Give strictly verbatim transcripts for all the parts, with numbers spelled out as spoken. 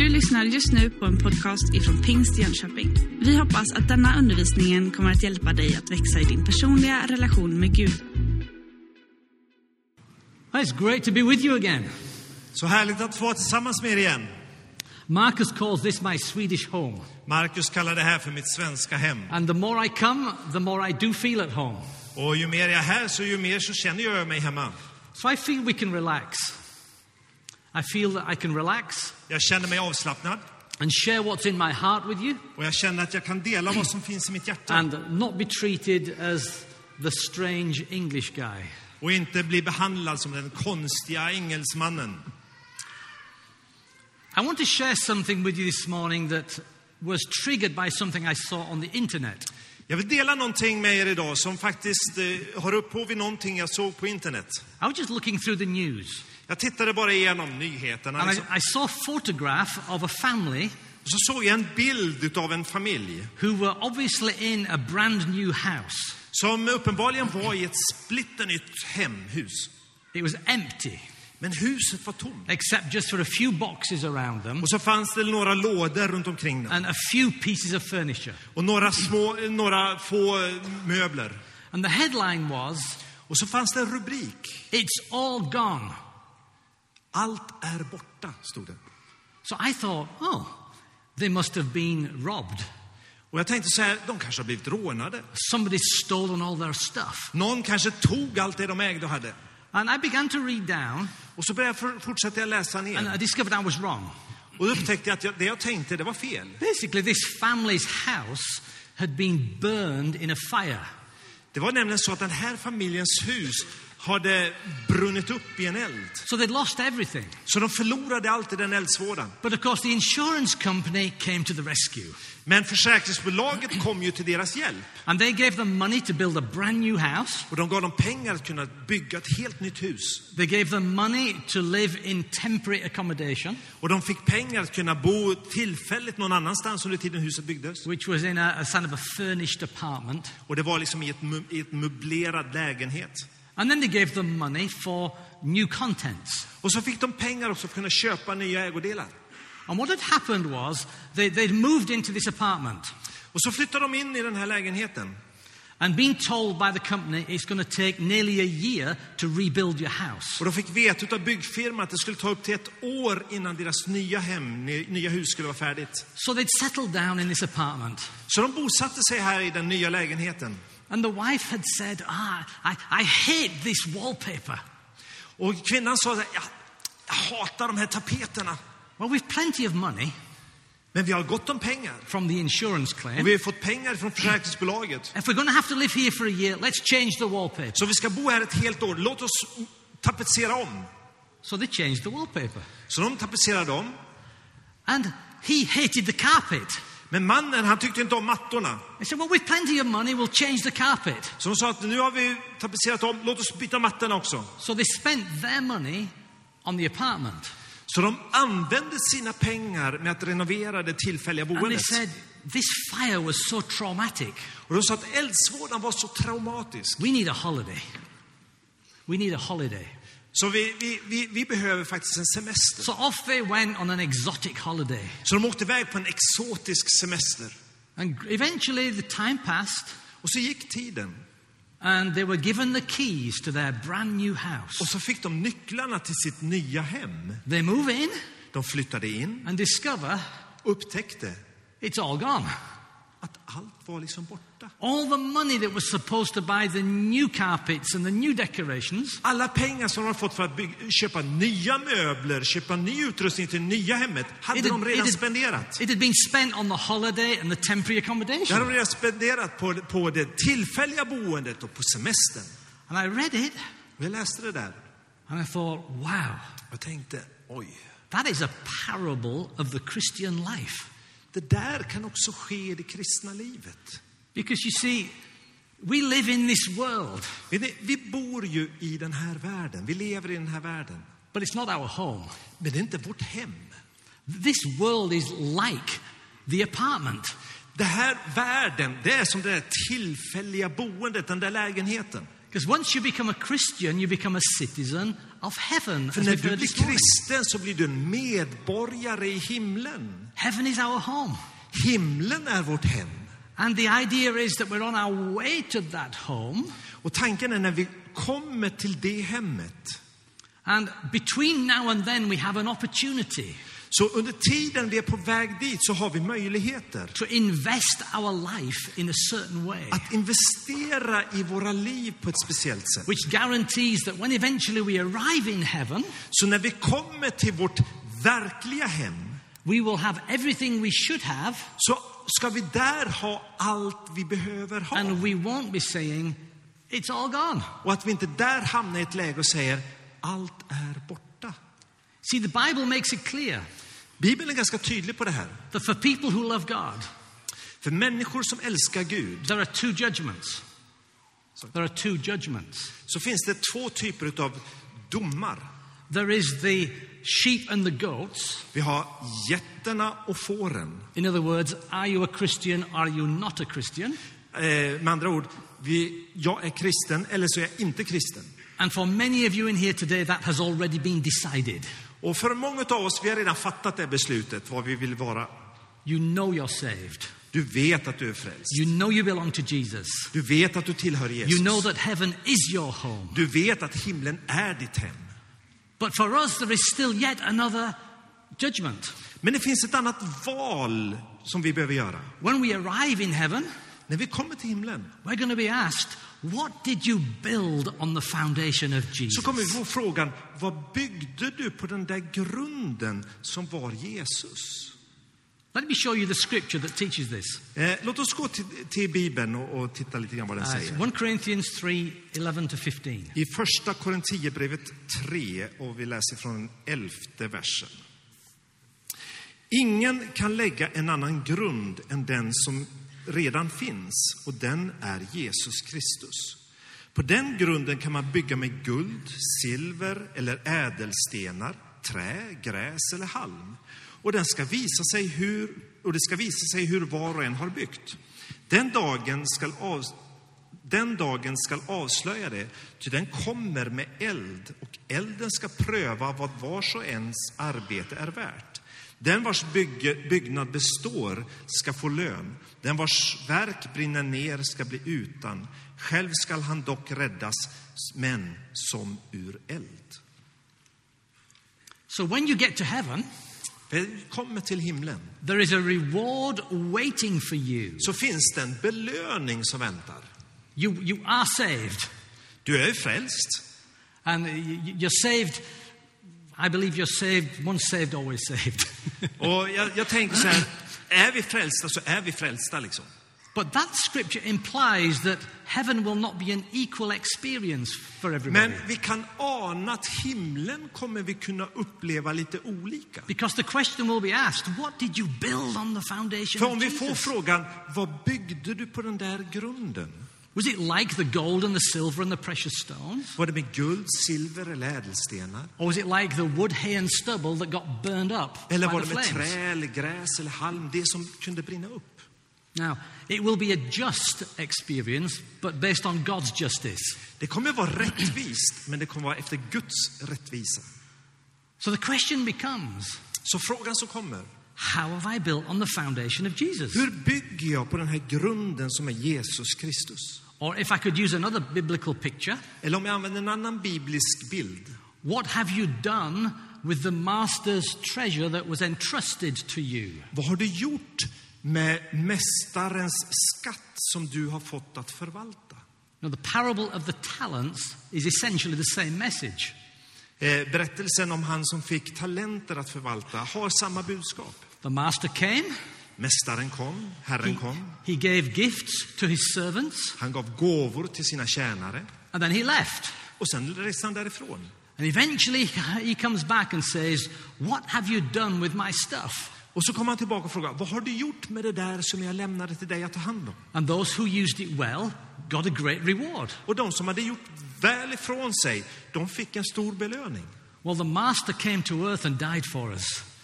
Du lyssnar just nu på en podcast ifrån Pingst Jönköping. Vi hoppas att denna undervisningen kommer att hjälpa dig att växa i din personliga relation med Gud. It's great to be with you again. Så härligt att få vara tillsammans med er igen. Marcus calls this my Swedish home. Marcus kallar det här för mitt svenska hem. And the more I come, the more I do feel at home. Och ju mer jag är här så ju mer så känner jag mig hemma. So I feel we can relax. I feel that I can relax. Jag känner mig avslappnad. And share what's in my heart with you. Och jag känner att jag kan dela vad som finns i mitt hjärta. And not be treated as the strange English guy. Och inte bli behandlad som den konstiga engelsmannen. I want to share something with you this morning that was triggered by something I saw on the internet. Jag vill dela någonting med er idag som faktiskt eh, har upphov i någonting jag såg på internet. I was just looking through the news. Jag tittade bara igenom nyheterna. And I, Liksom. I saw a photograph of a family Och så såg jag en bild av en familj who were obviously in a brand new house. som uppenbarligen var i ett splitternytt hemhus. It was empty, Men huset var tomt. except just for a few boxes around them Och så fanns det några lådor runt omkring dem. and a few pieces of furniture. Och några små, några få möbler. And the headline was, Och så fanns det en rubrik. "It's all gone." Allt är borta, stod det. So I thought, oh, they must have been robbed. Och jag tänkte så här, de kanske har blivit rånade. Somebody's stolen all their stuff. Någon kanske tog allt det de ägde och hade. And I began to read down, Och så började jag fortsätta jag läsa and ner. I discovered I was wrong. Och då upptäckte jag att jag, det jag tänkte, det var fel. Basically, this family's house had been burned in a fire. Det var nämligen så att den här familjens hus hade brunnit upp i en eld. So they'd lost everything. Så de förlorade allt i den eldsvådan. But of course, the insurance company came to the rescue. Men försäkringsbolaget kom ju till deras hjälp. And they gave them money to build a brand new house. Och de gav dem pengar att kunna bygga ett helt nytt hus. They gave them money to live in temporary accommodation, Och de fick pengar att kunna bo tillfälligt någon annanstans under tiden huset byggdes. which was in a, a kind of a furnished apartment. Och det var liksom i ett, mu- i ett möblerad lägenhet. And then they gave them money for new contents. Och så fick de pengar också för att kunna köpa nya ägodelar. And what had happened was they, they'd moved into this apartment Och så flyttade de in i den här lägenheten. and been told by the company it's going to take nearly a year to rebuild your house. Och de fick veta av byggfirman att det skulle ta upp till ett år innan deras nya hem, nya hus skulle vara färdigt. So they'd settled down in this apartment. Så de bosatte sig här i den nya lägenheten. And the wife had said, ah, I, I hate this wallpaper. Och kvinnan sa att jag, jag hatar de här tapeterna. Well, we've plenty of money Men vi har gott om pengar. from the insurance Och claim. vi har fått pengar från försäkringsbolaget. If we're going to have to live here for a year, let's change the wallpaper. Så vi ska bo här ett helt år. Låt oss tapetsera om. So they changed the wallpaper. Så de tapetserade om. And he hated the carpet. Men mannen, han tyckte inte om mattorna. He said, well, with plenty of money, we'll change the carpet. Så de sa att nu har vi tapetserat om. Låt oss byta mattorna också. So they spent their money on the apartment. Så de använde sina pengar med att renovera det tillfälliga And they boendet. said, this fire was so traumatic. Och de sa att eldsvådan var så traumatisk. We need a holiday. We need a holiday. Så vi, vi, vi, vi behöver faktiskt en semester. So off they went on an exotic holiday. Så de åkte iväg på en exotisk semester. And eventually the time passed Och så gick tiden. and they were given the keys to their brand new house. Och så fick de nycklarna till sitt nya hem. They move in De flyttade in and discover upptäckte it's all gone. att allt var liksom borta. All the money that was supposed to buy the new carpets and the new decorations, Alla pengar som de har fått för att bygga, köpa nya möbler, köpa ny utrustning till nya hemmet, hade it de had, it, redan had, spenderat. it had been spent on the holiday and the temporary Det hade de accommodation. redan spenderat på, på det tillfälliga boendet och på semestern. And I read it Och jag läste det där. and I thought, wow, Jag tänkte, oj, that is a parable of the Christian life. det där kan också ske i det kristna livet. Because you see, we live in this world, Vet ni, vi bor ju i den här världen. Vi lever i den här världen. but it's not our home. Men det är inte vårt hem. This world is like the apartment. Det här världen, det är som det där tillfälliga boendet, den där lägenheten. Because once you become a Christian, you become a citizen of heaven. För as när we've du heard blir this morning. kristen så blir du en medborgare i himlen. Heaven is our home. Himlen är vårt hem. And the idea is that we're on our way to that home. Och tanken är när vi kommer till det hemmet. And between now and then we have an opportunity Så under tiden vi är på väg dit så har vi möjligheter to invest our life in a certain way, att investera i våra liv på ett speciellt sätt. which guarantees that when eventually we arrive in heaven, Så när vi kommer till vårt verkliga hem we will have everything we should have, så ska vi där ha allt vi behöver ha. and we won't be saying, it's all gone. Och att vi inte där hamnar i ett läge och säger allt är borta. See, the Bible makes it clear Bibeln är ganska tydlig på det här. that for people who love God, För människor som älskar Gud there are two judgments. There are two judgments. så finns det två typer av domar. There is the sheep and the goats. Vi har getterna och fåren. In other words, are you a Christian, are you not a Christian? Eh, med andra ord, vi, jag är kristen eller så är jag inte kristen. And for many of you in here today, that has already been decided. Och för många av oss, vi har redan fattat det beslutet, vad vi vill vara. You know you're saved. Du vet att du är frälst. You know you belong to Jesus. Du vet att du tillhör Jesus. You know that heaven is your home. Du vet att himlen är ditt hem. But for us, there is still yet another judgment. Men det finns ett annat val som vi behöver göra. When we arrive in heaven, När vi kommer till himlen we're going to be asked, what did you build on the foundation of så Jesus? kommer vi få frågan, vad byggde du på den där grunden som var Jesus? Let me show you the scripture that teaches this. Eh, låt oss gå till, till Bibeln och, och titta lite grann vad den Uh, säger. First Corinthians three, eleven to fifteen. I första Korintierbrevet tre och vi läser från den elfte versen. Ingen kan lägga en annan grund än den som redan finns, och den är Jesus Kristus. På den grunden kan man bygga med guld, silver eller ädelstenar, trä, gräs eller halm. Och den ska visa sig hur och det ska visa sig hur var och en har byggt. Den dagen ska av, den dagen ska avslöja det, ty den kommer med eld, och elden ska pröva vad vars och ens arbete är värt. Den vars bygge, byggnad består ska få lön. Den vars verk brinner ner ska bli utan. Själv skall han dock räddas, men som ur eld. So when you get to heaven, Vi kommer till himlen, there is a reward waiting for you. så finns det en belöning som väntar. You, you are saved. Du är frälst. And you- you're saved. I believe you're saved. Once saved, always saved. Och jag, jag tänker så här, är vi frälsta så är vi frälsta liksom. But that scripture implies that heaven will not be an equal experience for everybody. Men vi kan ana att himlen kommer vi kunna uppleva lite olika. Because the question will be asked, what did you build on the foundation För of om vi får Jesus? frågan, vad byggde du på den där grunden? Was it like the gold and the silver and the precious stones? Var det med guld, silver eller ädelstenar? Or was it like the wood, hay and stubble that got burned up Eller by var the det med flames? trä eller gräs eller halm, det som kunde brinna upp? Now, it will be a just experience, but based on God's justice. Det kommer vara rättvist, men det kommer vara efter Guds rättvisa. So the question becomes, Så frågan som kommer, how have I built on the foundation of Jesus? hur bygger jag på den här grunden som är Jesus Kristus? Or if I could use another biblical picture, Eller om jag använder en annan biblisk bild. what have you done with the master's treasure that was entrusted to you? Vad har du gjort med mästarens skatt som du har fått att förvalta? Now, the parable of the talents is essentially the same message. Eh, berättelsen om han som fick talenter att förvalta har samma budskap. The master came, Mästaren kom, Herren he, kom. he gave gifts to his servants, Han gav gåvor till sina tjänare. and then he left. Och sen reste han därifrån. And eventually he comes back and says, what have you done with my stuff? Och så kommer han tillbaka och frågar, vad har du gjort med det där som jag lämnade till dig att ta hand om? And those who used it well got a great reward. Och de som hade gjort väl ifrån sig, de fick en stor belöning. Well, the master came to earth and died for us.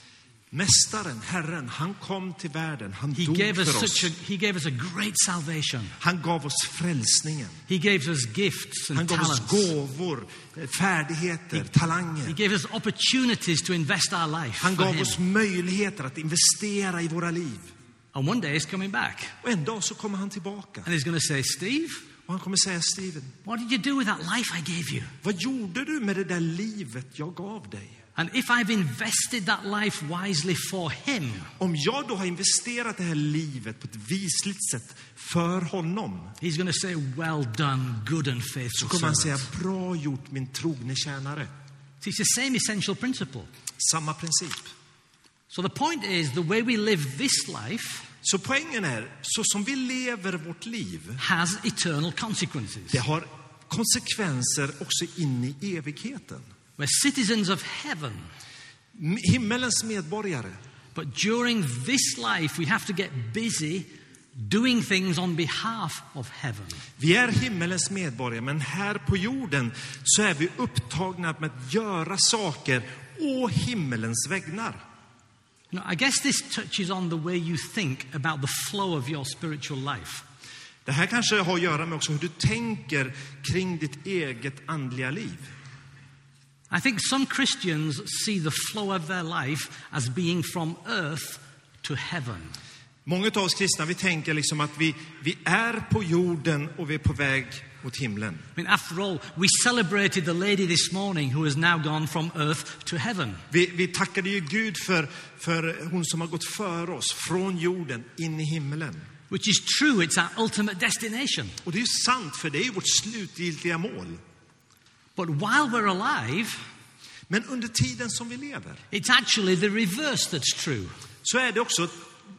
Mästaren, Herren, han kom till världen. Han He dog gave us för oss. such a, he gave us a great salvation. Han gav oss frälsningen. He gave us gifts Han and gav oss talents. gåvor, färdigheter, talanger. He gave us opportunities to invest our life Han for gav him. oss möjligheter att investera i våra liv. And one day he's coming back. Och en dag så kommer han tillbaka. And he's going to say, Steve, Och han kommer säga, Steven, what did you do with that life I gave you? vad gjorde du med det där livet jag gav dig? And if I've invested that life wisely for him, Om jag då har investerat det här livet på ett visligt sätt för honom, he's going to say, well done, good and så faithful kommer han säga, servant. bra gjort min trogne tjänare. It's the same essential principle. Samma princip. So the point is, the way we live this life Så poängen är, så som vi lever vårt liv, has eternal consequences. det har konsekvenser också in i evigheten. We're citizens of heaven, Himmelens medborgare. but during this life we have to get busy doing things on behalf of heaven. Vi är himmelens medborgare, men här på jorden så är vi upptagna med att göra saker å himmelens vägnar. You know, I guess this touches on the way you think about the flow of your spiritual life. Det här kanske har att göra med också hur du tänker kring ditt eget andliga liv. I think some Christians see the flow of their life as being from earth to heaven. Många av oss kristna, vi tänker liksom att vi, vi är på jorden och vi är på väg mot himlen. I mean, after all, we celebrated the lady this morning who has now gone from earth to heaven. Vi, vi tackade ju Gud för, för hon som har gått före oss från jorden in i himlen. Which is true, it's our ultimate destination. Och det är ju sant, för det är ju vårt slutgiltiga mål. But while we're alive, Men under tiden som vi lever it's actually the reverse that's true. så är det också,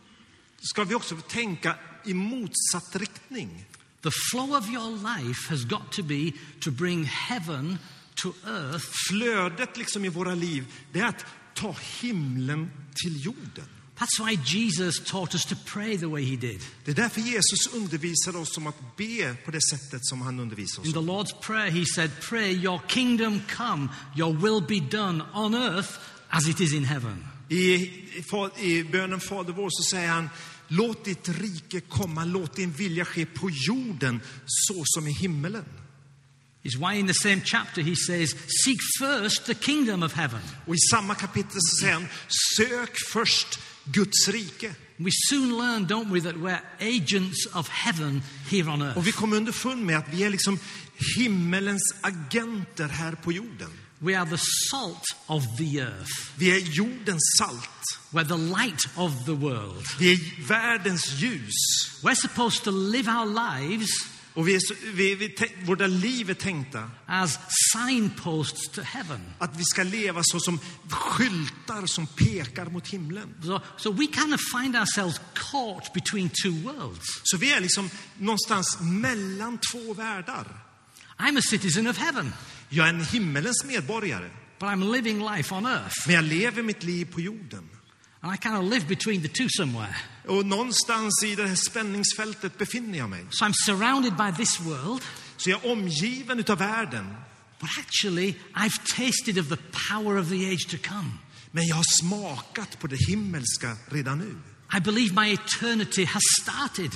ska vi också tänka i motsatt riktning. The flow of your life has got to be to bring heaven to earth. Flödet liksom i våra liv, det är att ta himlen till jorden. That's why Jesus taught us to pray the way he did. Det är därför Jesus undervisade oss om att be på det sättet som han undervisade In oss. the Lord's Prayer, he said, pray your kingdom come, your will be done on earth as it is in heaven. I, i, I bönen Fader vår så säger han, låt ditt rike komma, låt din vilja ske på jorden så som i himmelen. Is why in the same chapter he says, seek first the kingdom of heaven. Och i samma kapitel så säger han, sök först Guds rike. We soon learn, don't we, that we're agents of heaven here on earth. Och vi kommer underfund med att vi är liksom himmelens agenter här på jorden. We are the salt of the earth. Vi är jordens salt. We're the light of the world. Vi är världens ljus. We're supposed to live our lives Och vi är så, vi, vi, våra liv är tänkta as signposts to heaven. att vi ska leva så som skyltar som pekar mot himlen. So, so we kind of find ourselves caught between two worlds. Så vi är liksom någonstans mellan två världar. I'm a citizen of heaven, Jag är en himmelens medborgare, but I'm living life on earth. men jag lever mitt liv på jorden. And I kind of live between the two somewhere. Och någonstans i det här spänningsfältet befinner jag mig. So I'm surrounded by this world, Så jag är omgiven utav världen. but actually I've tasted of the power of the age to come. Men jag har smakat på det himmelska redan nu. I believe my eternity has started.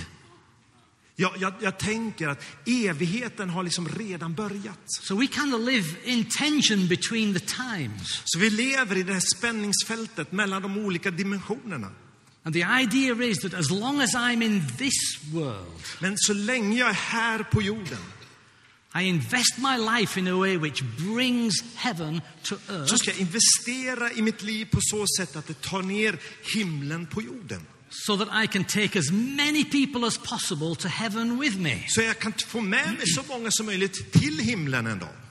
Jag, jag, jag tänker att evigheten har liksom redan börjat. So we kind of live in tension between the times. Så vi lever i det här spänningsfältet mellan de olika dimensionerna. And the idea is that as long as I'm in this world, Men så länge jag är här på jorden I invest my life in a way which brings heaven to så earth, ska jag investera i mitt liv på så sätt att det tar ner himlen på jorden. so that I can take as many people as possible to heaven with me. Så jag kan få med mig så många som möjligt till himlen en dag.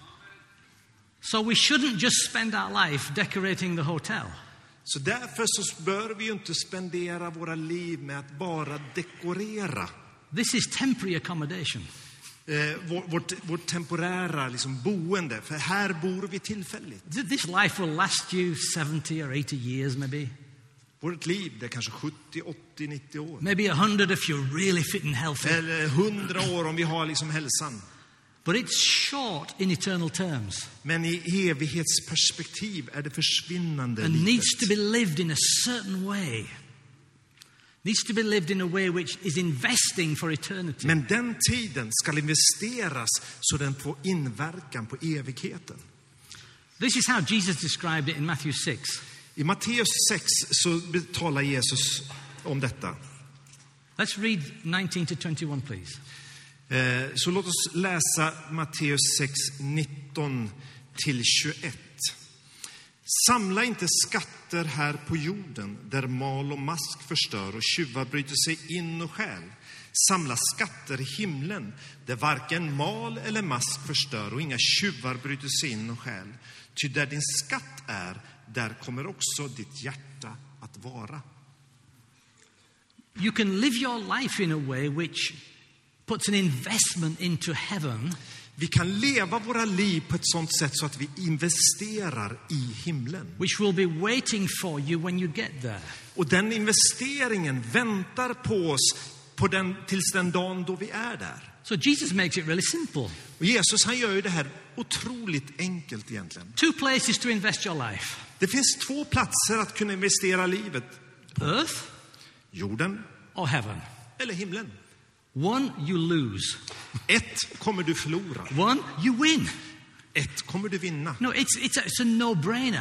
So we shouldn't just spend our life decorating the hotel. Så därför så bör vi ju inte spendera våra liv med att bara dekorera This is temporary accommodation. eh, vår, vårt, vårt temporära liksom, boende. För här bor vi tillfälligt. Th- This life will last you seventy or eighty years maybe. Vårt liv, det är kanske sjuttio, åttio, nittio år. Maybe one hundred if you're really fit and healthy. Eller hundra år om vi har liksom hälsan. But it's short in eternal terms Men i evighetsperspektiv är det försvinnande and needs to litet. be lived in a certain way. Needs to be lived in a way which is investing for eternity. Men den tiden ska investeras så den får inverkan på evigheten. This is how Jesus described it in Matthew six. I Matteus sex så talar Jesus om detta. Let's read nineteen to twenty-one, please. Eh, Så låt oss läsa Matteus sex, nitton till tjugoett. Samla inte skatter här på jorden där mal och mask förstör och tjuvar bryter sig in och stjäl. Samla skatter i himlen där varken mal eller mask förstör och inga tjuvar bryter sig in och stjäl. Ty där din skatt är, där kommer också ditt hjärta att vara. You can live your life in a way which puts an investment into heaven. Vi kan leva våra liv på ett sådant sätt så att vi investerar i himlen. Which will be waiting for you when you get there. Och den investeringen väntar på oss på den, tills den dagen då vi är där. So Jesus makes it really simple. Och Jesus han gör ju det här otroligt enkelt egentligen. Two places to invest your life. Det finns två platser att kunna investera livet. Earth Jorden or heaven. eller himlen. One you lose. Ett kommer du förlora. One you win. Ett kommer du vinna. No, it's, it's, a, it's a no-brainer.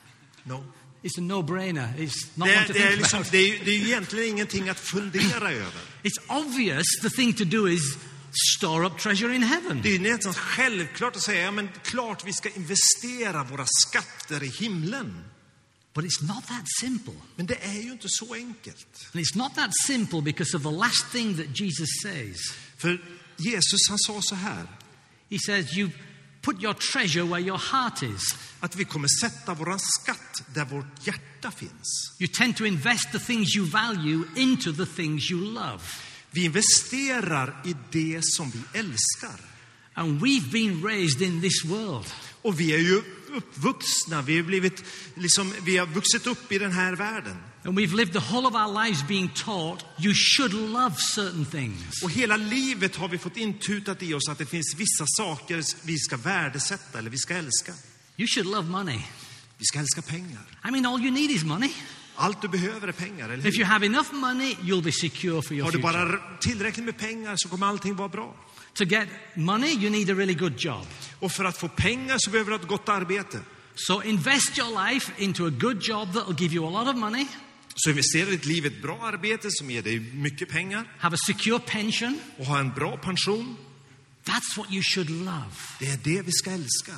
No. It's a no-brainer. It's not Det, one to det, är think liksom, about. det, är, det är egentligen ingenting att fundera över. It's obvious the thing to do is store up treasure in heaven. Det är ju nästan självklart att säga, ja, men klart vi ska investera våra skatter i himlen. But it's not that simple. Men det är ju inte så enkelt. And it's not that simple because of the last thing that Jesus says. För Jesus han sa så här, He says, you put your treasure where your heart is. att vi kommer sätta våran skatt där vårt hjärta finns. You tend to invest the things you value into the things you love. Vi investerar i det som vi älskar. And we've been raised in this world. Och vi är ju uppvuxna, vi har blivit liksom, vi har vuxit upp i den här världen. And we've lived the whole of our lives being taught you should love certain things. Och hela livet har vi fått intutat i oss att det finns vissa saker vi ska värdesätta eller vi ska älska. You should love money. Vi ska älska pengar. I mean, all you need is money. Allt du behöver är pengar, eller If hur? you have enough money, you'll be secure for your Har du future. bara tillräckligt med pengar så kommer allting vara bra. To get money, you need a really good job. Och för att få pengar så behöver du ha ett gott arbete. So invest your life into a good job that will give you a lot of money. Så investera ditt liv i ett bra arbete som ger dig mycket pengar. Have a secure pension. Och ha en bra pension. That's what you should love. Det är det vi ska älska.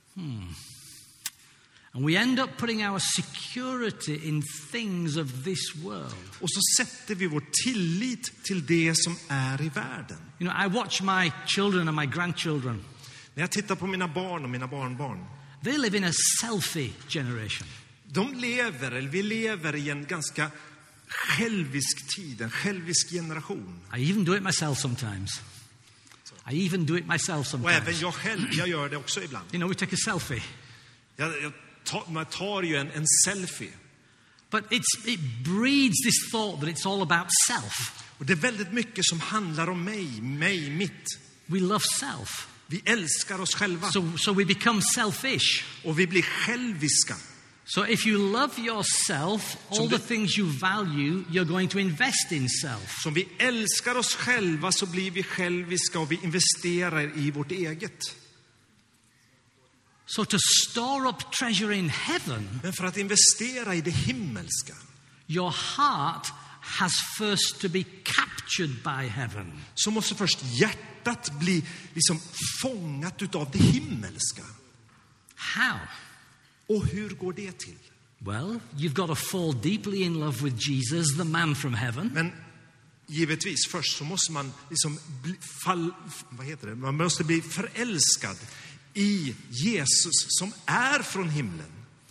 And we end up putting our security in things of this world. Och så sätter vi vår tillit till det som är i världen. You know, I watch my children and my grandchildren. När jag tittar på mina barn och mina barnbarn. They live in a selfie generation. De lever, eller vi lever i en ganska självisk tid, en självisk generation. I even do it myself sometimes. I even do it myself Och även sometimes. jag själv, jag gör det också ibland. You know, we take a selfie. Jag, jag tar, man tar ju en, en selfie. But it's, it breeds this thought that it's all about self. Och det är väldigt mycket som handlar om mig, mig, mitt. We love self. Vi älskar oss själva. So, so we become selfish. Och vi blir själviska. So if you love yourself, all Som the det- things you value, you're going to invest in self. Som vi älskar oss själva så blir vi själviska och vi investerar i vårt eget. So to store up treasure in heaven, Men för att investera i det himmelska your heart has first to be captured by heaven. så måste först hjärtat bli liksom fångat utav det himmelska. How? Och hur går det till? Well, you've got to fall deeply in love with Jesus, the man from heaven. Men givetvis först så måste man liksom bli fall, vad heter det? Man måste bli förälskad i Jesus som är från himlen.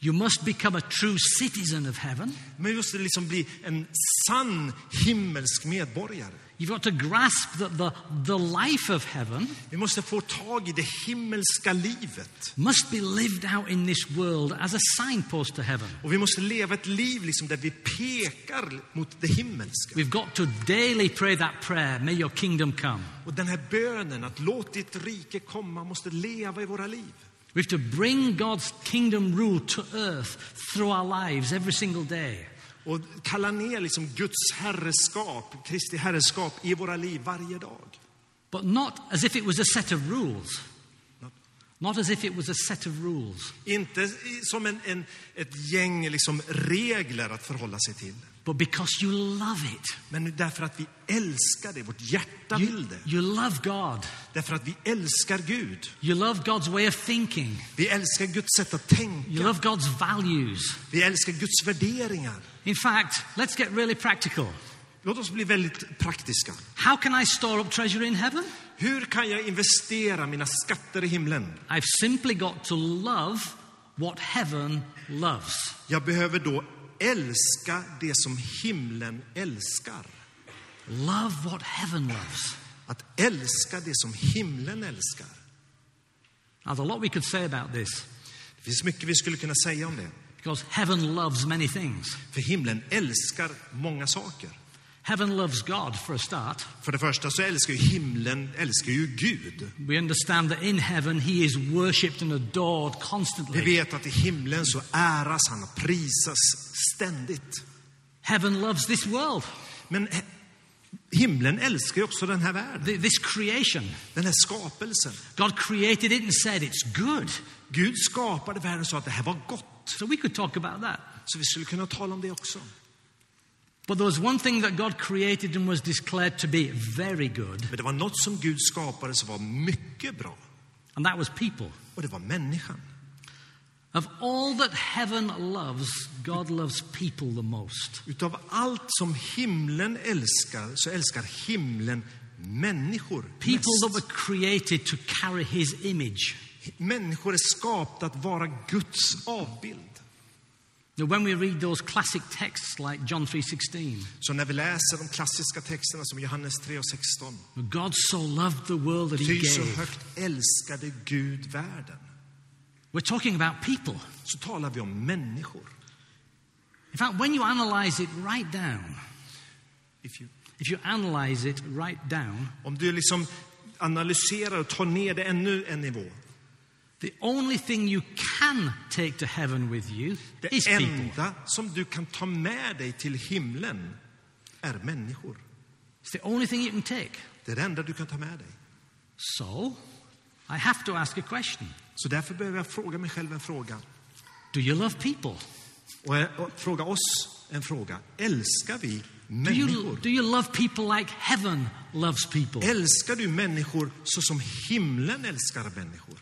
You must become a true citizen of heaven. Men vi måste liksom bli en sann himmelsk medborgare. You've got to grasp that the, the life of heaven Vi måste få tag i det himmelska livet. must be lived out in this world as a signpost to heaven. Och vi måste leva ett liv liksom där vi pekar mot det himmelska. We've got to daily pray that prayer, may your kingdom come. Och den här bönen att låt ditt rike komma måste leva i våra liv. We have to bring God's kingdom rule to earth through our lives every single day. Och kalla ner liksom Guds herreskap, Kristi herreskap i våra liv varje dag. But not as if it was a set of rules. Not as if it was a set of rules. Inte som en, en, ett gäng liksom regler att förhålla sig till. But because you love it. Men därför att vi älskar det, vårt hjärta You, vill det. you love God. Därför att vi älskar Gud. You love God's way of thinking. Vi älskar Guds sätt att You tänka. love God's values. Vi älskar Guds värderingar. In fact, let's get really practical. Låt oss bli väldigt praktiska. How can I store up treasure in heaven? Hur kan jag investera mina skatter i himlen? I've simply got to love what heaven loves. Jag behöver då älska det som himlen älskar. Love what heaven loves. Att älska det som himlen älskar. Now, there's a lot we could say about this, Det finns mycket vi skulle kunna säga om det. because heaven loves many things. För himlen älskar många saker. Heaven loves God, for a start. För det första så älskar ju himlen älskar ju Gud. We understand that in heaven he is worshipped and adored Vi constantly. vet att i himlen så äras han och prisas ständigt. Heaven loves this world, Men he- himlen älskar ju också den här världen. th- this creation. Den här skapelsen. God created it and said it's good. Gud skapade världen och sa att det här var gott. So we could talk about that. Så vi skulle kunna tala om det också. But there was one thing that God created and was declared to be very good, Men det var något som Gud skapade som var mycket bra. and that was people. Och det var människan. Of all that heaven loves, God loves people the most. Utav allt som himlen älskar så älskar himlen människor People that mest. were created to carry his image. Människor är skapta att vara Guds avbild. Now, when we read those classic texts like John three sixteen, Så när vi läser de klassiska texterna som Johannes tre och sexton. God so loved the world that he Ty så gave. högt älskade Gud världen. We're talking about people. Så talar vi om människor. In fact, when you analyze it right down, If you, if you analyze it right down, om du liksom analyserar och tar ner det ännu en nivå. the only thing you can take to heaven with you Det is people. enda som du kan ta med dig till himlen är människor. It's the only thing you can take. Det är det enda du kan ta med dig. So, I have to ask a question. Så därför behöver jag fråga mig själv en fråga. Do you love people? Och, jag- och fråga oss en fråga. Älskar vi Do you, människor? do you love people like heaven loves people? Älskar du människor så som himlen älskar människor?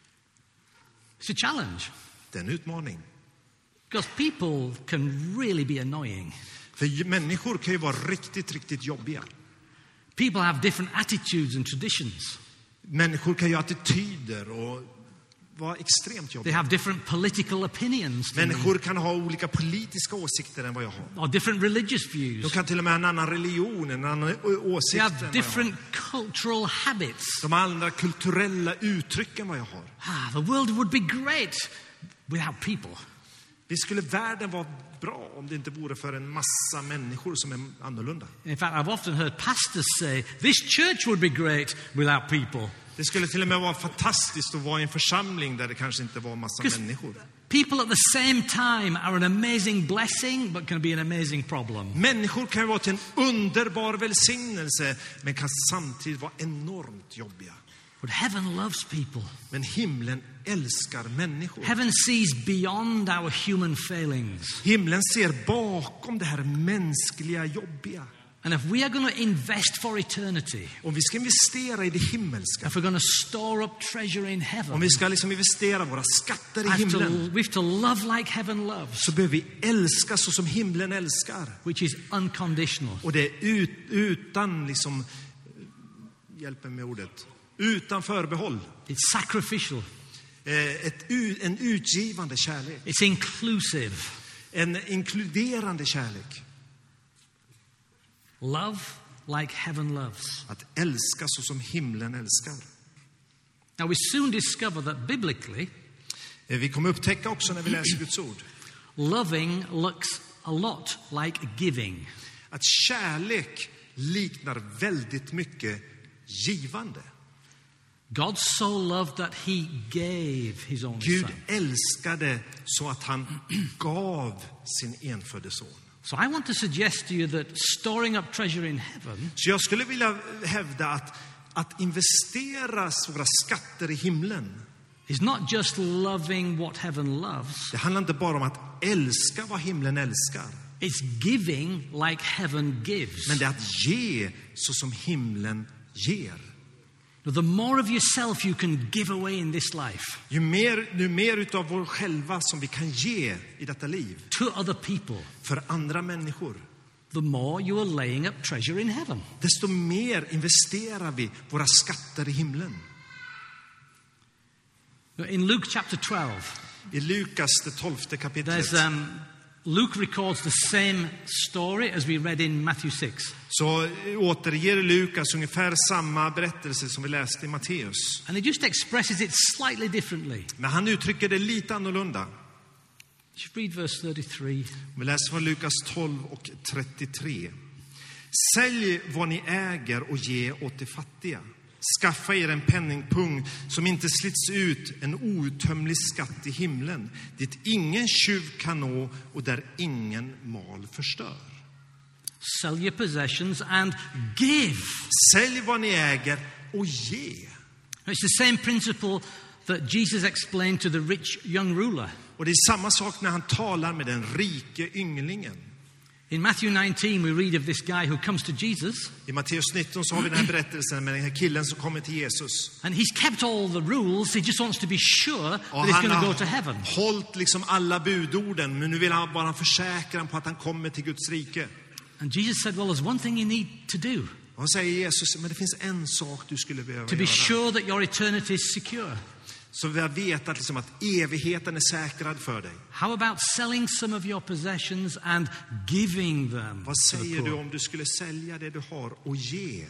It's a challenge, Det är en utmaning. because people can really be annoying. För människor kan ju vara riktigt, riktigt jobbiga. People have different attitudes and traditions. Människor kan ju ha attityder och vara extremt They jobbiga. have different political opinions than me, Människor kan ha olika politiska åsikter än vad jag har. or different religious De views. kan till och med ha en annan religion, en annan å- They åsikt än have vad jag har. different cultural habits. De har andra kulturella uttryck än vad jag har. Ah, the world would be great without people. Visst skulle världen vara bra om det inte vore för en massa människor som är annorlunda. In fact, I've often heard pastors say, this church would be great without people. Det skulle till och med vara fantastiskt att vara i en församling där det kanske inte var en massa Because människor. people at the same time are an amazing blessing, but can be an amazing problem. Människor kan vara till en underbar välsignelse men kan samtidigt vara enormt jobbiga. But heaven loves people. Men himlen älskar människor. Heaven sees beyond our human failings. Himlen ser bakom det här mänskliga jobbiga. And if we are going to invest for eternity, Om vi ska investera i det himmelska, if we're going to store up treasure in om heaven, vi ska liksom investera våra skatter i I have to, himlen, we have to love like heaven loves, så behöver vi älska så som himlen älskar. which is unconditional. Och det är ut, utan liksom, hjälp mig med ordet, utan förbehåll. It's sacrificial. Eh, ett, en utgivande kärlek. It's inclusive. En inkluderande kärlek. Love like heaven loves. Att älska så som himlen älskar. Now we soon discover that biblically, Eh, vi kommer upptäcka också när vi läser Guds ord loving looks a lot like giving. att kärlek liknar väldigt mycket givande. God so loved that he gave his own Gud son. älskade så att han gav sin enfödde son. So I want to suggest to you that storing up treasure in heaven Så jag skulle vilja hävda att, att investera våra skatter i himlen, is not just loving what heaven loves, det handlar inte bara om att älska vad himlen älskar, it's giving like heaven gives. men det är att ge så som himlen ger. The more of yourself you can give away in this life Ju mer, ju mer utav vår själva som vi kan ge i detta liv to other people, för andra människor, the more you are laying up treasure in heaven. desto mer investerar vi våra skatter i himlen. In Luke chapter twelve, I Lukas det tolfte kapitlet there's um, Luke records the same story as we read in Matthew six. så återger Lukas ungefär samma berättelse som vi läste i Matteus. And he just expresses it slightly differently. Men han uttrycker det lite annorlunda. Just read verse thirty-three. Vi läser från Lukas tolv och trettiotre. Sälj vad ni äger och ge åt de fattiga. Skaffa er en penningpung som inte slits ut, en outtömlig skatt i himlen, dit ingen tjuv kan nå och där ingen mal förstör. Sell your possessions and give. Sälj vad ni äger och ge. It's the same principle that Jesus explained to the rich young ruler. Och det är samma sak när han talar med den rike ynglingen. In Matthew nineteen we read of this guy who comes to Jesus. I Matteus nitton så har vi den här berättelsen med den här killen som kommer till Jesus. And he's kept all the rules. He just wants to be sure Och that he's han going to har go to heaven. hållit liksom alla budorden, men nu vill han bara försäkra på att han kommer till Guds rike. And Jesus said, well, there's one thing you need to do Och han säger Jesus, men det finns en sak du skulle behöva to be göra. sure that your eternity is secure. Så vi vet att, liksom, att evigheten är säkrad för dig. How about selling some of your possessions and giving them Vad to the säger du poor? om du skulle sälja det du har och ge?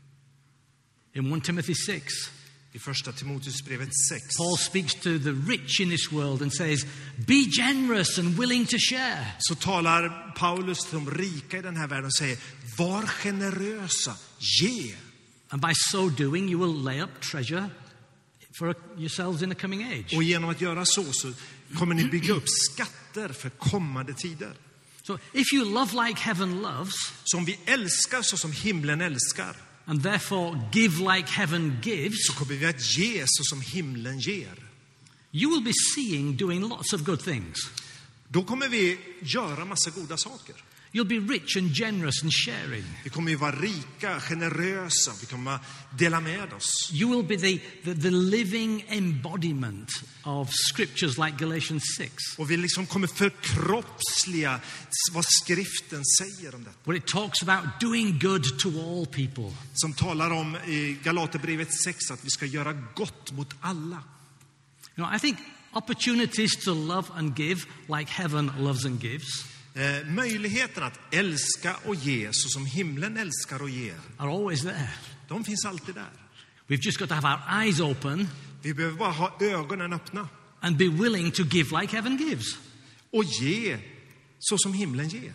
In First Timothy six, I första Timoteusbrevet sex Paul speaks to the rich in this world and says, be generous and willing to share. så talar Paulus till de rika i den här världen och säger, var generösa, ge. And by so doing you will lay up treasure for yourselves in the coming age. Och genom att göra så, så kommer ni bygga upp skatter för kommande tider. So if you love like heaven loves, Som vi älskar så som himlen älskar, and therefore give like heaven gives, så kommer vi att ge så som himlen ger. you will be seeing doing lots of good things. Då kommer vi göra massa goda saker. You'll be rich and generous and sharing. Vi kommer ju vara rika, generösa, vi kommer att dela med oss. You will be the, the, the living embodiment of scriptures like Galatians six, Och vi liksom kommer förkroppsliga vad skriften säger om detta. where it talks about doing good to all people. Som talar om i Galaterbrevet sex att vi ska göra gott mot alla. You know, I think opportunities to love and give like heaven loves and gives Eh, möjligheten att älska och ge så som himlen älskar och ger, are always there. de finns alltid där. We've just got to have our eyes open Vi behöver bara ha ögonen öppna and be willing to give like heaven gives. och ge så som himlen ger.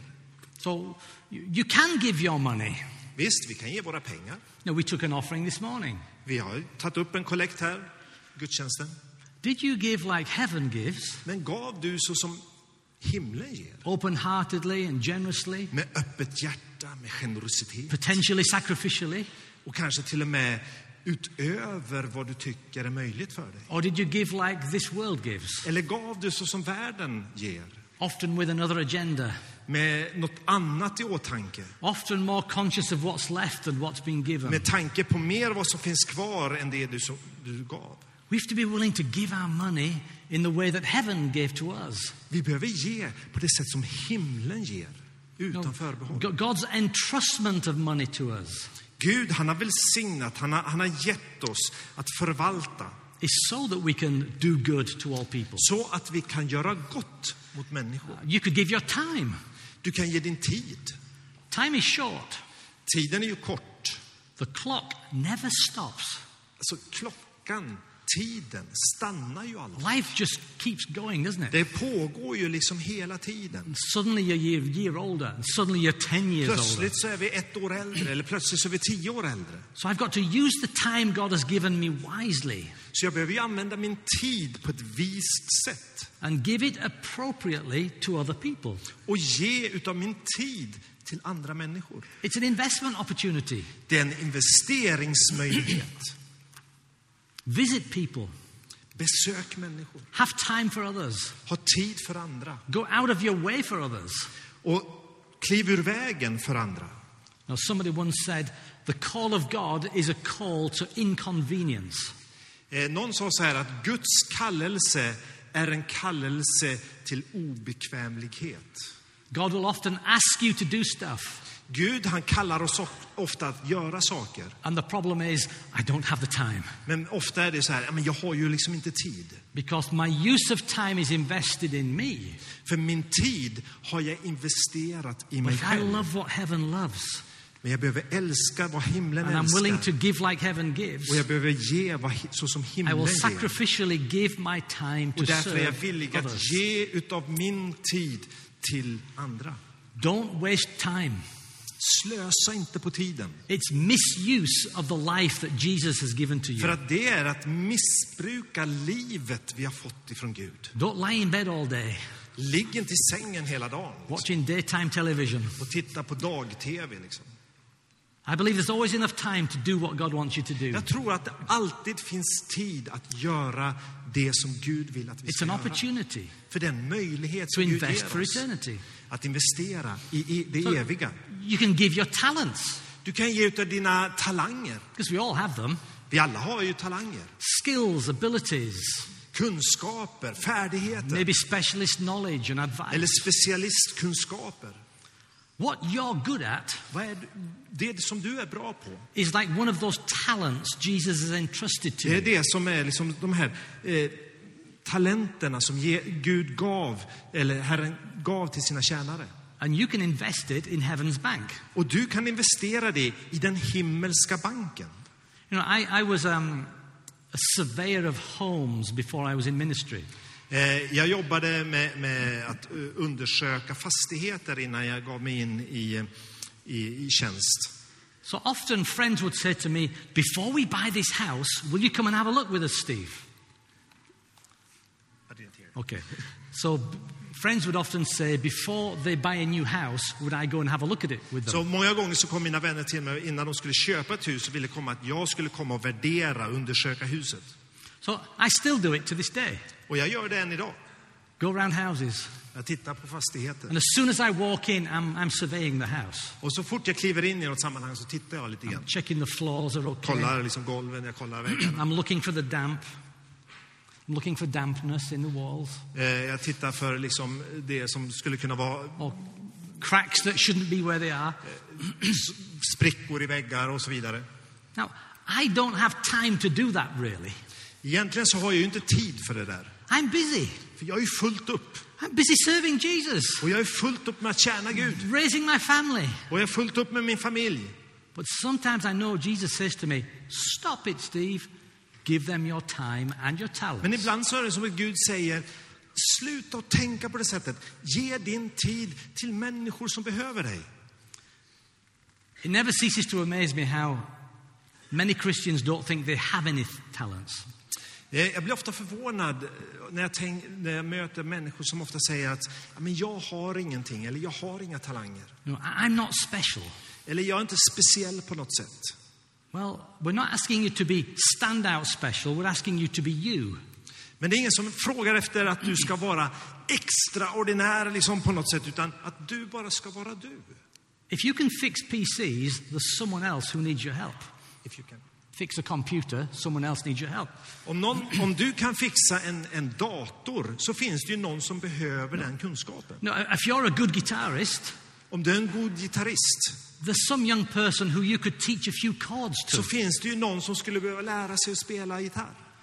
So you, you can give your money. Visst, vi kan ge våra pengar. You know, we took an offering this morning. Vi har tagit upp en kollekt här, gudstjänsten. Did you give like heaven gives? Men gav du så som himlen ger? Open-heartedly and generously? Med öppet hjärta, med generositet. Potentially sacrificially? Och kanske till och med utöver vad du tycker är möjligt för dig. Or did you give like this world gives? Eller gav du så som världen ger? Often with another agenda. Med något annat i åtanke. Often more conscious of what's left than what's been given. Med tanke på mer vad som finns kvar än det du, som, du gav. We have to be willing to give our money in the way that heaven gave to us. Vi behöver ge på det sätt som himlen ger. Utan förbehåll. God's entrustment of money to us Gud, han har välsignat, han har, han har gett oss att förvalta. is so that we can do good to all people. Så att vi kan göra gott mot människor. You could give your time. Du kan ge din tid. Time is short. Tiden är ju kort. The clock never stops. Alltså klockan, tiden stannar ju aldrig. Life just keeps going, doesn't it? Det pågår ju liksom hela tiden. Suddenly you're a year, year older, and suddenly you're ten years older. Plötsligt så är vi ett år äldre, eller plötsligt så är vi tio år äldre. So I've got to use the time God has given me wisely. Så jag behöver ju använda min tid på ett vist sätt. And give it appropriately to other people. Och ge utav min tid till andra människor. It's an investment opportunity. Det är en investeringsmöjlighet. Visit people. Besök människor. Have time for others. Ha tid för andra. Go out of your way for others. Och kliv ur vägen för andra. Now, somebody once said, the call of God is a call to inconvenience. Eh, någon sa så här att Guds kallelse är en kallelse till obekvämlighet. God will often ask you to do stuff. Gud, han kallar oss ofta att göra saker. And the problem is, I don't have the time. Men ofta är det så här, men jag har ju liksom inte tid. Because my use of time is invested in me. För min tid har jag investerat i mig But I själv. love what heaven loves. Men jag behöver älska vad himlen And I'm willing to älskar. give like heaven gives. Och jag behöver ge vad, så som I himlen will ger. sacrificially give my time to Och därför är jag serve villig att others. ge utav min tid till andra. Don't waste time. Slösa inte på tiden. It's misuse of the life that Jesus has given to För you. att det är att missbruka livet vi har fått ifrån Gud. Don't lie in bed all day, Ligg inte i sängen hela dagen watching daytime television. och titta på dag-tv. Liksom. I believe there's always enough time to do what God wants you to do. Jag tror att det alltid finns tid att göra det som Gud vill att vi It's ska an göra. opportunity För den möjlighet to som Gud invest ger for oss. eternity. Att investera i, i det So eviga. you can give your talents, Du kan ge utav dina talanger. because we all have them. Vi alla har ju talanger. Skills, abilities, Kunskaper, färdigheter. maybe specialist knowledge and advice. Eller specialistkunskaper. What you're good at Vad är det som du är bra på? is like one of those talents Jesus has entrusted to Det är you. det som är liksom de här eh, talenterna som ge, Gud gav, eller Herren gav till sina tjänare. And you can invest it in heaven's bank. Och du kan investera det i den himmelska banken. You know, I, I was um, a surveyor of homes before I was in ministry. Eh, jag jobbade med, med att uh, undersöka fastigheter innan jag gav mig in i, i, i tjänst. So often friends would say to me, before we buy this house, will you come and have a look with us, Steve? Okay. So b- friends would often say, before they buy a new house, would I go and have a look at it with them? Så många gånger så kom mina vänner till mig innan de skulle köpa ett hus och ville komma att jag skulle komma och värdera, undersöka huset. So I still do it to this day. Och jag gör det än idag. Go around houses. Jag tittar på fastigheter. And as soon as I walk in, I'm, I'm surveying the house. Och så fort jag kliver in i något sammanhang så tittar jag lite grann. Checking the floors are okay. Kollar liksom golven, jag kollar väggarna. I'm looking for the damp. I'm looking for dampness in the walls. Eh, jag tittar för liksom det som skulle kunna vara Or cracks that shouldn't be where they are. s- sprickor i väggar och så vidare. Now, I don't have time to do that really. Egentligen så har jag ju inte tid för det där. I'm busy. För jag är ju fullt upp. I'm busy serving Jesus, Och jag är fullt upp med att tjäna Gud. raising my family. Och jag är fullt upp med min familj. But sometimes I know Jesus says to me, stop it, Steve. Give them your time and your Men talents. ibland så är det som att Gud säger, sluta att tänka på det sättet. Ge din tid till människor som behöver dig. It never ceases to amaze me how many Christians don't think they have any talents. Eh, Jag blir ofta förvånad när jag, tänk, när jag möter människor som ofta säger att "Ja, men jag har ingenting, eller jag har inga talanger. You know, I- I'm not special. Eller jag är inte speciell på något sätt. Well, we're not asking you to be standout special. We're asking you to be you. Men det är ingen som frågar efter att du ska vara extraordinär liksom på något sätt, utan att du bara ska vara du. If you can fix P Cs, there's someone else who needs your help. If you can. Fix a computer, someone else needs your help. Om, någon, om du kan fixa en, en dator så finns det ju någon som behöver den kunskapen. No, if you're a good guitarist, Om du är en god gitarrist there's some young person who you could teach a few chords to. så finns det ju någon som skulle behöva lära sig att spela gitarr.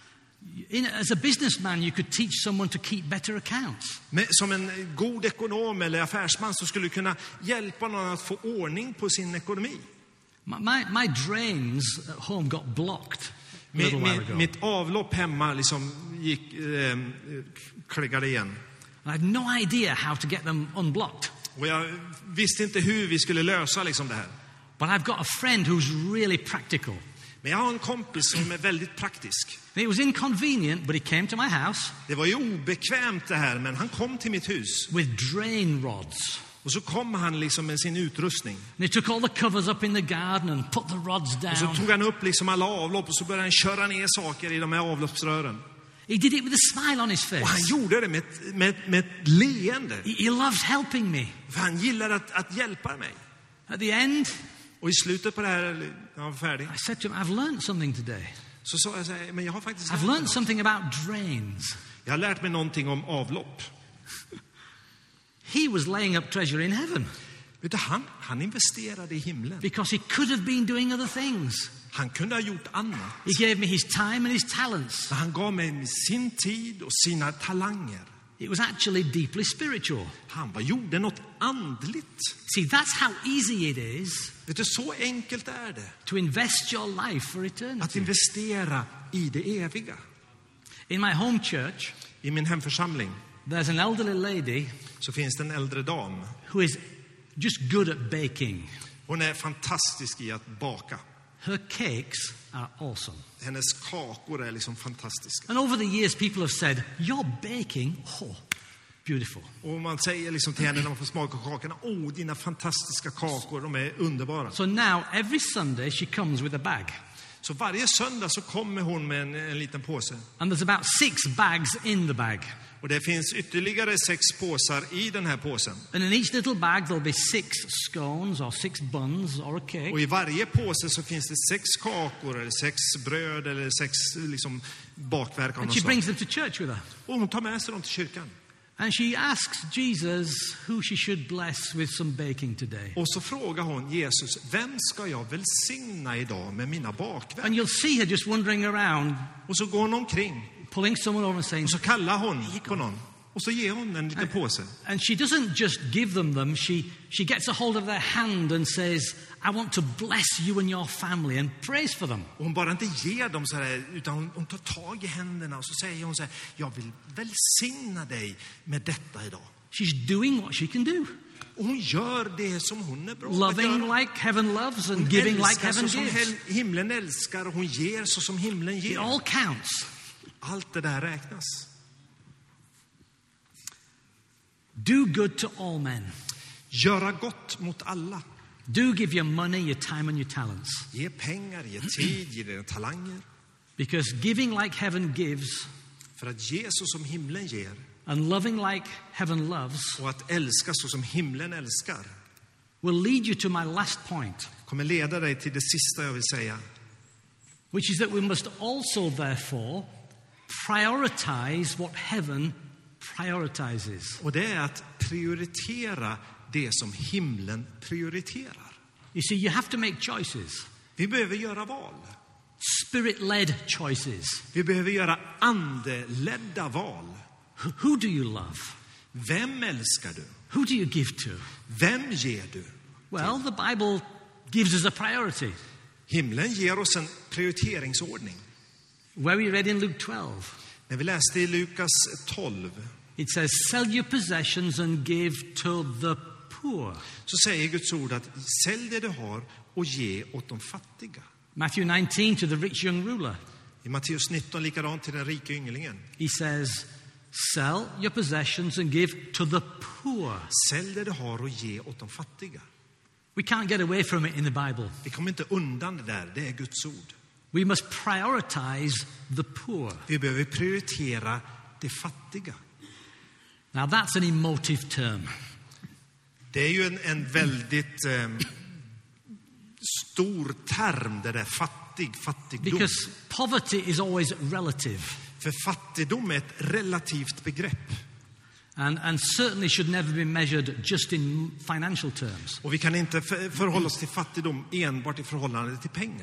In, as a businessman, you could teach someone to keep better accounts. Men som en god ekonom eller affärsman så skulle du kunna hjälpa någon att få ordning på sin ekonomi. My, my, my drains at home got blocked a little Min, while min, ago. mitt avlopp hemma liksom gick, eh, kliggade igen. And I have no idea how to get them unblocked. Och jag visste inte hur vi skulle lösa liksom det här. But I've got a friend who's really practical. Men jag har en kompis som är väldigt praktisk. It was inconvenient, but he came to my house Det var ju obekvämt det här, men han kom till mitt hus. with drain rods. Och så kom han liksom med sin utrustning. And he took all the covers up in the garden and put the rods Och så down. tog han upp liksom alla avlopp och så började han köra ner saker i de här avloppsrören. He did it with a smile on his Och han face. gjorde det med ett, med, med ett leende. He, he loves helping me. För han gillar att, att hjälpa mig. At the end, Och i slutet på det här, när han var färdig, I said to him, I've learned something today. så sa jag så här, men jag har faktiskt I've lärt mig learned något. something about drains. Jag har lärt mig någonting om avlopp. He was laying up treasure in heaven Vet du, han, han investerade i himlen. because he could have been doing other things. Han kunde ha gjort annat. He gave me his time and his talents. Men han gav mig sin tid och sina talanger. It was actually deeply spiritual. Han var, gjorde något andligt. See, that's how easy it is Vet du, så enkelt är det. to invest your life for Att eternity. investera i det eviga. In my home church, I min hemförsamling there's an elderly lady så finns det en äldre dam. who is just good at baking. Hon är fantastisk i att baka. Her cakes are awesome. Hennes kakor är liksom fantastiska. And over the years, people have said, your baking, oh, beautiful. Och man säger liksom till henne när man får smaka kakorna, åh, dina fantastiska kakor, de är underbara. So now, every Sunday, she comes with a bag. Så varje söndag så kommer hon med en, en liten påse. And there's about six bags in the bag. Och det finns ytterligare sex påsar i den här påsen. And in each little bag, there'll be six scones or six buns or a cake. Och i varje påse så finns det sex kakor eller sex bröd eller sex liksom bakverk av And något she slag. brings them to church with her. Och hon tar med sig dem till kyrkan. And she asks Jesus who she should bless with some baking today. Och så frågar hon Jesus, vem ska jag välsigna idag med mina bakverk? And you'll see her just wandering around, Och så går hon omkring pulling someone over and saying, och så kallar hon på någon. Och så ger hon en liten påse. and she doesn't just give them them, she, she gets a hold of their hand and says, I want to bless you and your family, and prays for them. Och hon bara inte ger dem så här, utan hon, hon tar tag i händerna och så säger hon så här, jag vill välsigna dig med detta idag. She's doing what she can do. Och hon gör det som hon är bra på att Loving göra. like heaven loves and Hon giving like älskar heaven så som gives. hel- himlen älskar och hon ger så som himlen It ger. all counts. Allt det där räknas. Do good to all men. Göra gott mot alla. Do give your money, your time and your talents. Ge pengar, ge tid, ge dina talanger. Because giving like heaven gives För att ge så som himlen ger and loving like heaven loves och att älska så som himlen älskar will lead you to my last point, kommer leda dig till det sista jag vill säga. which is that we must also therefore prioritize what heaven prioritizes. Och det är att prioritera det som himlen prioriterar. You see, you have to make choices, Vi behöver göra val. spirit-led choices. Vi behöver göra andeledda val. Who- Who do you love? Vem älskar du? Who do you give to? Vem ger du? Well, the Bible gives us a priority. Himlen ger oss en prioriteringsordning. Where we read in Luke twelve, När vi läste i Lukas tolv it says, sell your possessions and give to the poor. så säger Guds ord att sälj det du har och ge åt de fattiga. Matthew nineteen to the rich young ruler, I Matteus nitton likadant till den rika ynglingen. he says, sell your possessions and give to the poor. Sälj det du har och ge åt de fattiga. We can't get away from it in the Bible. Vi kommer inte undan det där, det är Guds ord. We must prioritize the poor. Vi behöver prioritera det fattiga. Now that's an emotive term. Det är ju en, en väldigt eh, stor term, det där fattig, fattigdom. Because poverty is always relative För fattigdom är ett relativt begrepp. and, and certainly should never be measured just in financial terms. Och vi kan inte för, förhålla oss till fattigdom enbart i förhållande till pengar.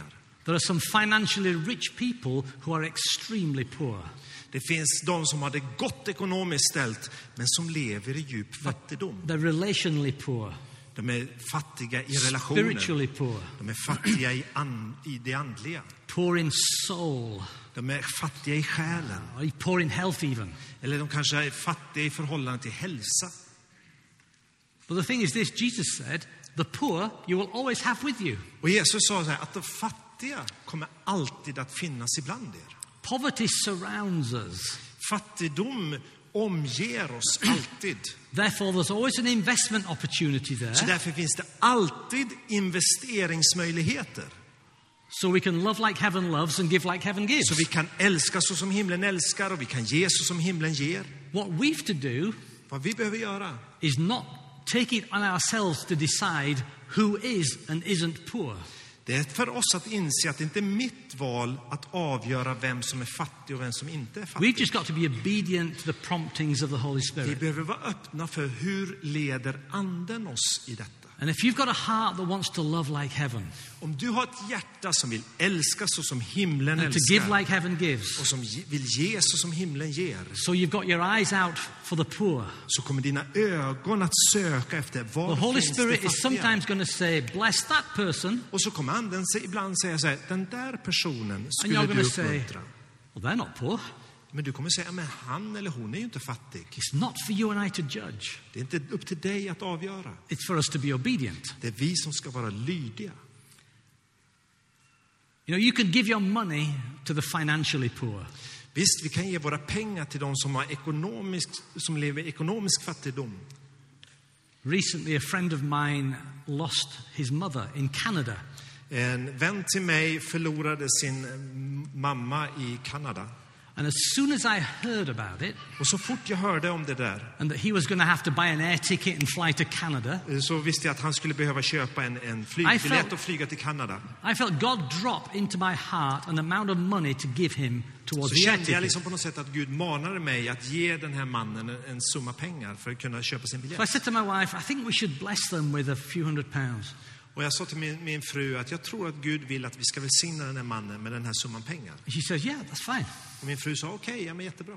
There are some financially rich people who are extremely poor. Det finns de som har det gott ekonomiskt ställt, men som lever i djup fattigdom. They're relationally poor. De är fattiga i relationer. Spiritually poor. De är fattiga i, an, i det andliga. Poor in soul. De är fattiga i själen. Or poor in health even. Eller de kanske är fattiga i förhållande till hälsa. But the thing is this, Jesus said, the poor you will always have with you. Och Jesus sa så här, att de fattiga kommer alltid att finnas ibland er. Poverty surrounds us. Fattigdom omger oss alltid. Therefore there's always an investment opportunity there. Så därför finns det alltid investeringsmöjligheter. So we can love like heaven loves and give like heaven gives. Så vi kan älska så som himlen älskar och vi kan ge så som himlen ger. What we've to do Vad vi behöver göra is not take it on ourselves to decide who is and isn't poor. det är för oss att inse att det inte är mitt val att avgöra vem som är fattig och vem som inte är fattig. We've just got to be obedient to the promptings of the Holy Vi Spirit. behöver vara öppna för hur leder anden oss i detta. And if you've got a heart that wants to love like heaven, Om du har ett hjärta som vill älska så som himlen and to give älskar like heaven gives, och som ge- vill ge så som himlen ger, so you've got your eyes out for the poor, så kommer dina ögon att söka efter the var Holy finns Spirit det is fattiga. sometimes going to say, bless that person, Och så kommer anden se- ibland säga så här, den där personen and skulle you're du going to say, uppmuntra. well, they're not poor. Men du kommer säga, men han eller hon är ju inte fattig. It's not for you and I to judge. Det är inte upp till dig att avgöra. It's for us to be obedient. Det är vi som ska vara lydiga. You know, you can give your money to the financially poor. Visst, vi kan ge våra pengar till de som, har ekonomisk, som lever i ekonomisk fattigdom. Recently, a friend of mine lost his mother in Canada. En vän till mig förlorade sin mamma i Kanada. And as soon as I heard about it, Och så fort jag hörde om det där, and that he was going to have to buy an air ticket and fly to Canada, så visste jag att han skulle behöva köpa en, en I flygbiljett felt- och flyga till Kanada. I felt God drop into my heart an amount of money to give him towards Så the air kände jag ticket. liksom på något sätt att Gud manade mig att ge den här mannen en, en summa pengar för att kunna köpa sin So I biljett. said to my wife, I think we should bless them with a few hundred pounds. Och jag sa till min, min fru att jag tror att Gud vill att vi ska välsigna den här mannen med den här summan pengar. And she says, yeah, that's fine. Och min fru sa, okej, okay, ja men jättebra.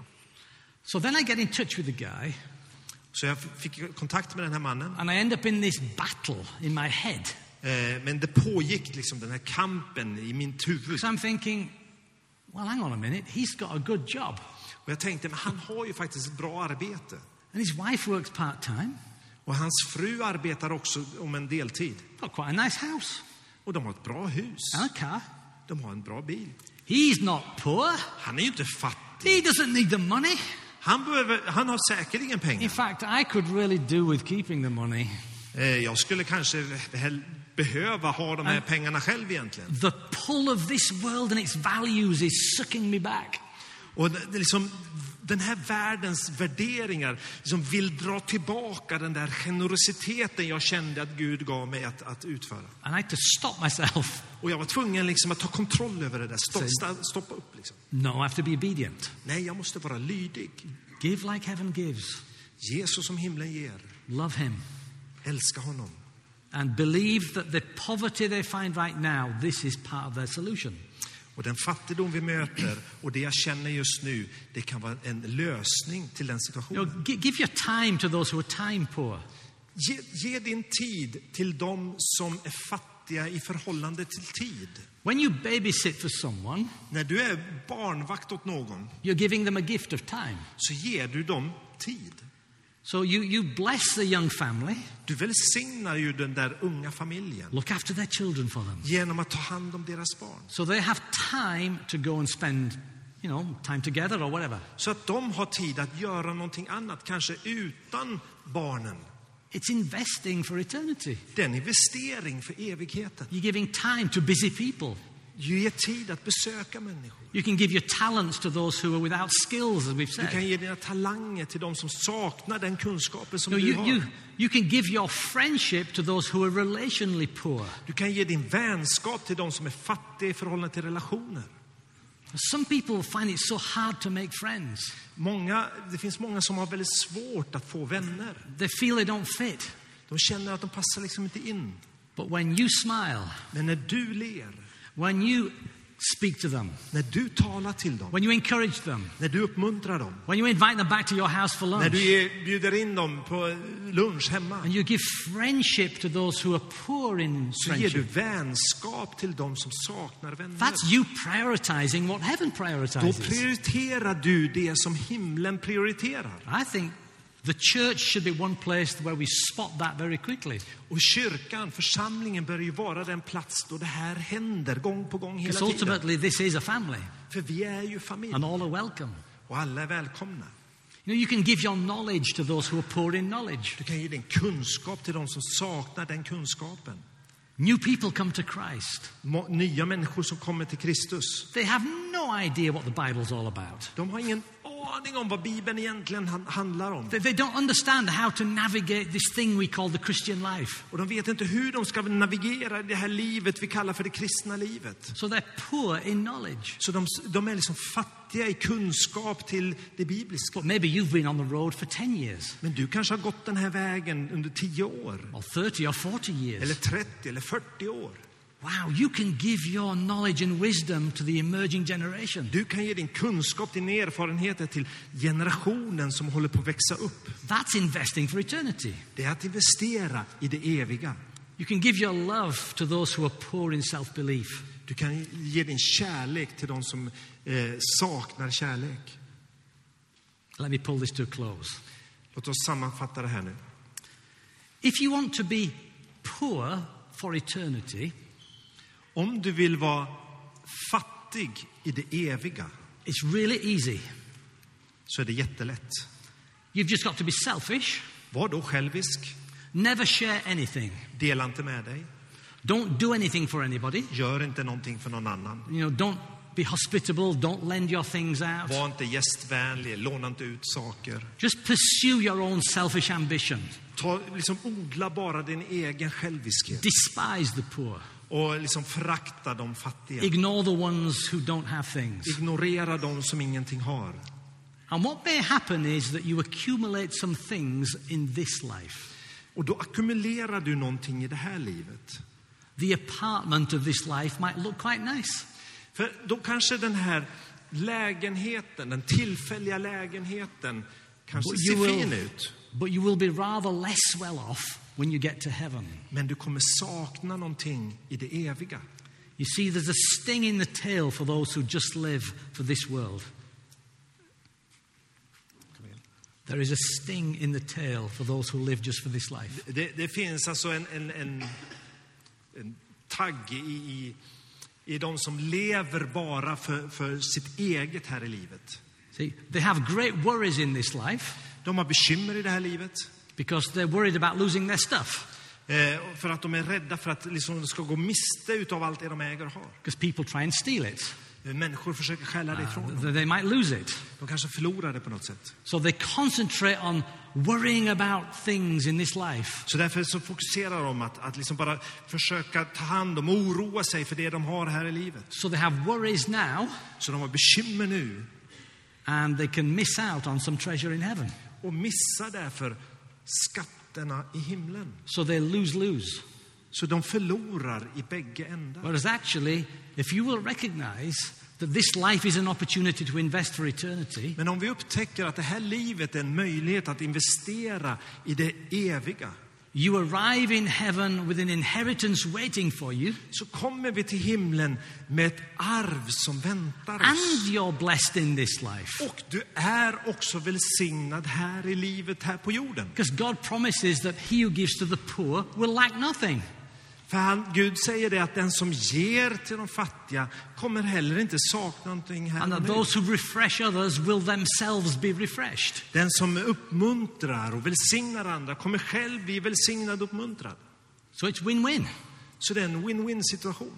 So then I get in touch with the guy, Så jag fick kontakt med den här mannen. and I end up in this battle in my head. Eh, men det pågick liksom den här kampen i mitt huvud. So I'm thinking, well, hang on a minute, he's got a good job. Och jag tänkte, men han har ju faktiskt ett bra arbete. And his wife works part-time. Och hans fru arbetar också om en deltid. Got quite a nice house Och de har ett bra hus. and a car. De har en bra bil. He's not poor. Han är ju inte fattig. He doesn't need the money. Han, behöver, han har säkerligen In pengar. fact, I could really do with keeping the money. Eh, jag skulle kanske hel- behöva ha de här pengarna själv egentligen. The pull of this world and its values is sucking me back. Och det, det är liksom, den här världens värderingar liksom vill dra tillbaka den där generositeten jag kände att Gud gav mig att, att utföra. And I had to stop myself. Och jag var tvungen liksom att ta kontroll över det där. Stopp, sta- stoppa upp liksom. No, I have to be obedient. Nej, jag måste vara lydig. Give like heaven gives. Jesus som himlen ger. Love him. Älska honom. And believe that the poverty they find right now, this is part of their solution. Och den fattigdom vi möter och det jag känner just nu, det kan vara en lösning till den You situationen. know, gi- give your time to those who are time poor. Ge, ge din tid till dem som är fattiga i förhållande till tid. When you babysit for someone, När du är barnvakt åt någon you're giving them a gift of time. så ger du dem tid. So you, you bless the young family, Du välsignar ju den där unga familjen look after their children for them. genom att ta hand om deras barn. So they have time to go and spend, you know, time together or whatever. Så att de har tid att göra någonting annat, kanske utan barnen. It's investing for eternity. Det är en investering för evigheten. You're giving time to busy people. Du ger tid att besöka människor. You can give your talents to those who are without skills, as we've Du kan said. ge dina talanger till de som saknar den kunskapen som You, know, du you, har. you, you can give your friendship to those who are relationally poor. Du kan ge din vänskap till de som är fattiga i förhållande till relationer. Some people find it so hard to make friends. Många, det finns många som har väldigt svårt att få vänner. They feel they don't fit. De känner att de passar liksom inte in. But when you smile, Men när du ler, When you speak to them, När du talar till dem, when you encourage them, när du uppmuntrar dem, when you invite them back to your house for när lunch, du ger- bjuder in dem på lunch hemma, and you give friendship to those who are poor in så ger du friendship. vänskap till dem som saknar vänner. That's you prioritizing what heaven Då prioritizes. prioriterar du det som himlen prioriterar. I think the church should be one place where we spot that very quickly. Och kyrkan, församlingen, bör ju vara den plats då det här händer gång på gång hela Because tiden. ultimately this is a family, För vi är ju familj and all are welcome. och alla är välkomna. You know, you can give your knowledge to those who are poor in knowledge. Du kan ge din kunskap till de som saknar den kunskapen. New people come to Christ. Må- Nya människor som kommer till Kristus. They have no idea what the Bible's all about. De har ingen aning om vad Bibeln egentligen han- handlar om. They, they don't understand how to navigate this thing we call the Christian life. Och de vet inte hur de ska navigera i det här livet vi kallar för det kristna livet. So they're poor in knowledge. Så de, de är liksom fattiga i kunskap till det bibliska. But maybe you've been on the road for ten years, Men du kanske har gått den här vägen under tio år. or thirty or forty Eller years. trettio eller fyrtio år. Wow, you can give your knowledge and wisdom to the emerging generation. Du kan ge din kunskap, din erfarenheter till generationen som håller på att växa upp. That's investing for eternity. Det är att investera i det eviga. You can give your love to those who are poor in self-belief. Du kan ge din kärlek till de som eh, saknar kärlek. Let me pull this to a close. Låt oss sammanfatta det här nu. If you want to be poor for eternity, Om du vill vara fattig i det eviga it's really easy. så är det jättelätt. You've just got to be selfish. Var då självisk. Never share anything. Dela inte med dig. Don't do anything for anybody. Gör inte någonting för någon annan. You know, don't be hospitable. Don't lend your things out. Var inte gästvänlig. Låna inte ut saker. Just pursue your own selfish ambition. Ta, liksom odla bara din egen själviskhet. Despise the poor. Och liksom förakta de fattiga. Ignore the ones who don't have things. Ignorera de som ingenting har. And what may happen is that you accumulate some things in this life. Och då ackumulerar du någonting i det här livet. The apartment of this life might look quite nice. För då kanske den här lägenheten, den tillfälliga lägenheten kanske But ser you will- fin ut. But you will be rather less well off when you get to heaven. Men du kommer sakna någonting i det eviga. You see, there's a sting in the tail for those who just live for this world. There is a sting in the tail for those who live just for this life. Det, det finns alltså en, en, en, en tagg i, i, i de som lever bara för, för sitt eget här i livet. See, they have great worries in this life De har bekymmer i det här livet. because they're worried about losing their stuff. Eh, för att de är rädda för att liksom, de ska gå miste utav allt det de äger och har. Because people try and steal it. Eh, Människor försöker stjäla det ifrån dem. Th- They might lose it. De kanske förlorar det på något sätt. So they concentrate on worrying about things in this life. Så därför så fokuserar de att, att liksom bara försöka ta hand om och oroa sig för det de har här i livet. So they have worries now, Så de har bekymmer nu and they can miss out on some treasure in heaven. och missar därför skatterna i himlen. So they lose-lose. Så de förlorar i bägge ändar. Whereas actually, if you will recognize that this life is an opportunity to invest for eternity, Men om vi upptäcker att det här livet är en möjlighet att investera i det eviga, you arrive in heaven with an inheritance waiting for you, så kommer vi till himlen med ett arv som väntar oss. and you're blessed in this life. Och du är också välsignad här i livet, här på jorden. Because God promises that he who gives to the poor will lack nothing. För han, Gud säger det att den som ger till de fattiga kommer heller inte sakna någonting här And och that nu. those who refresh others will themselves be refreshed. Den som uppmuntrar och välsignar andra kommer själv bli välsignad och uppmuntrad. So it's win-win. Så det är en win-win situation.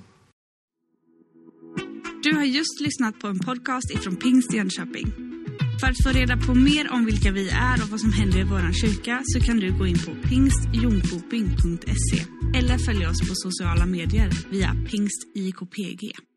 Du har just lyssnat på en podcast ifrån Pingst Jönköping. För att få reda på mer om vilka vi är och vad som händer i vår kyrka så kan du gå in på pingstjonkoping punkt se eller följa oss på sociala medier via pingst I K P G.